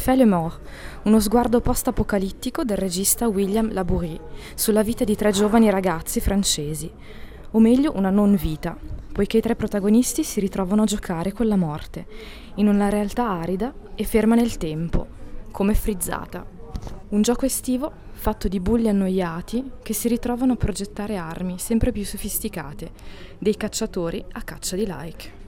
Fait le Mort, uno sguardo post-apocalittico del regista William Labourie sulla vita di 3 giovani ragazzi francesi, o meglio una non vita, poiché i 3 protagonisti si ritrovano a giocare con la morte, in una realtà arida e ferma nel tempo, come frizzata. Un gioco estivo fatto di bulli annoiati che si ritrovano a progettare armi sempre più sofisticate, dei cacciatori a caccia di like.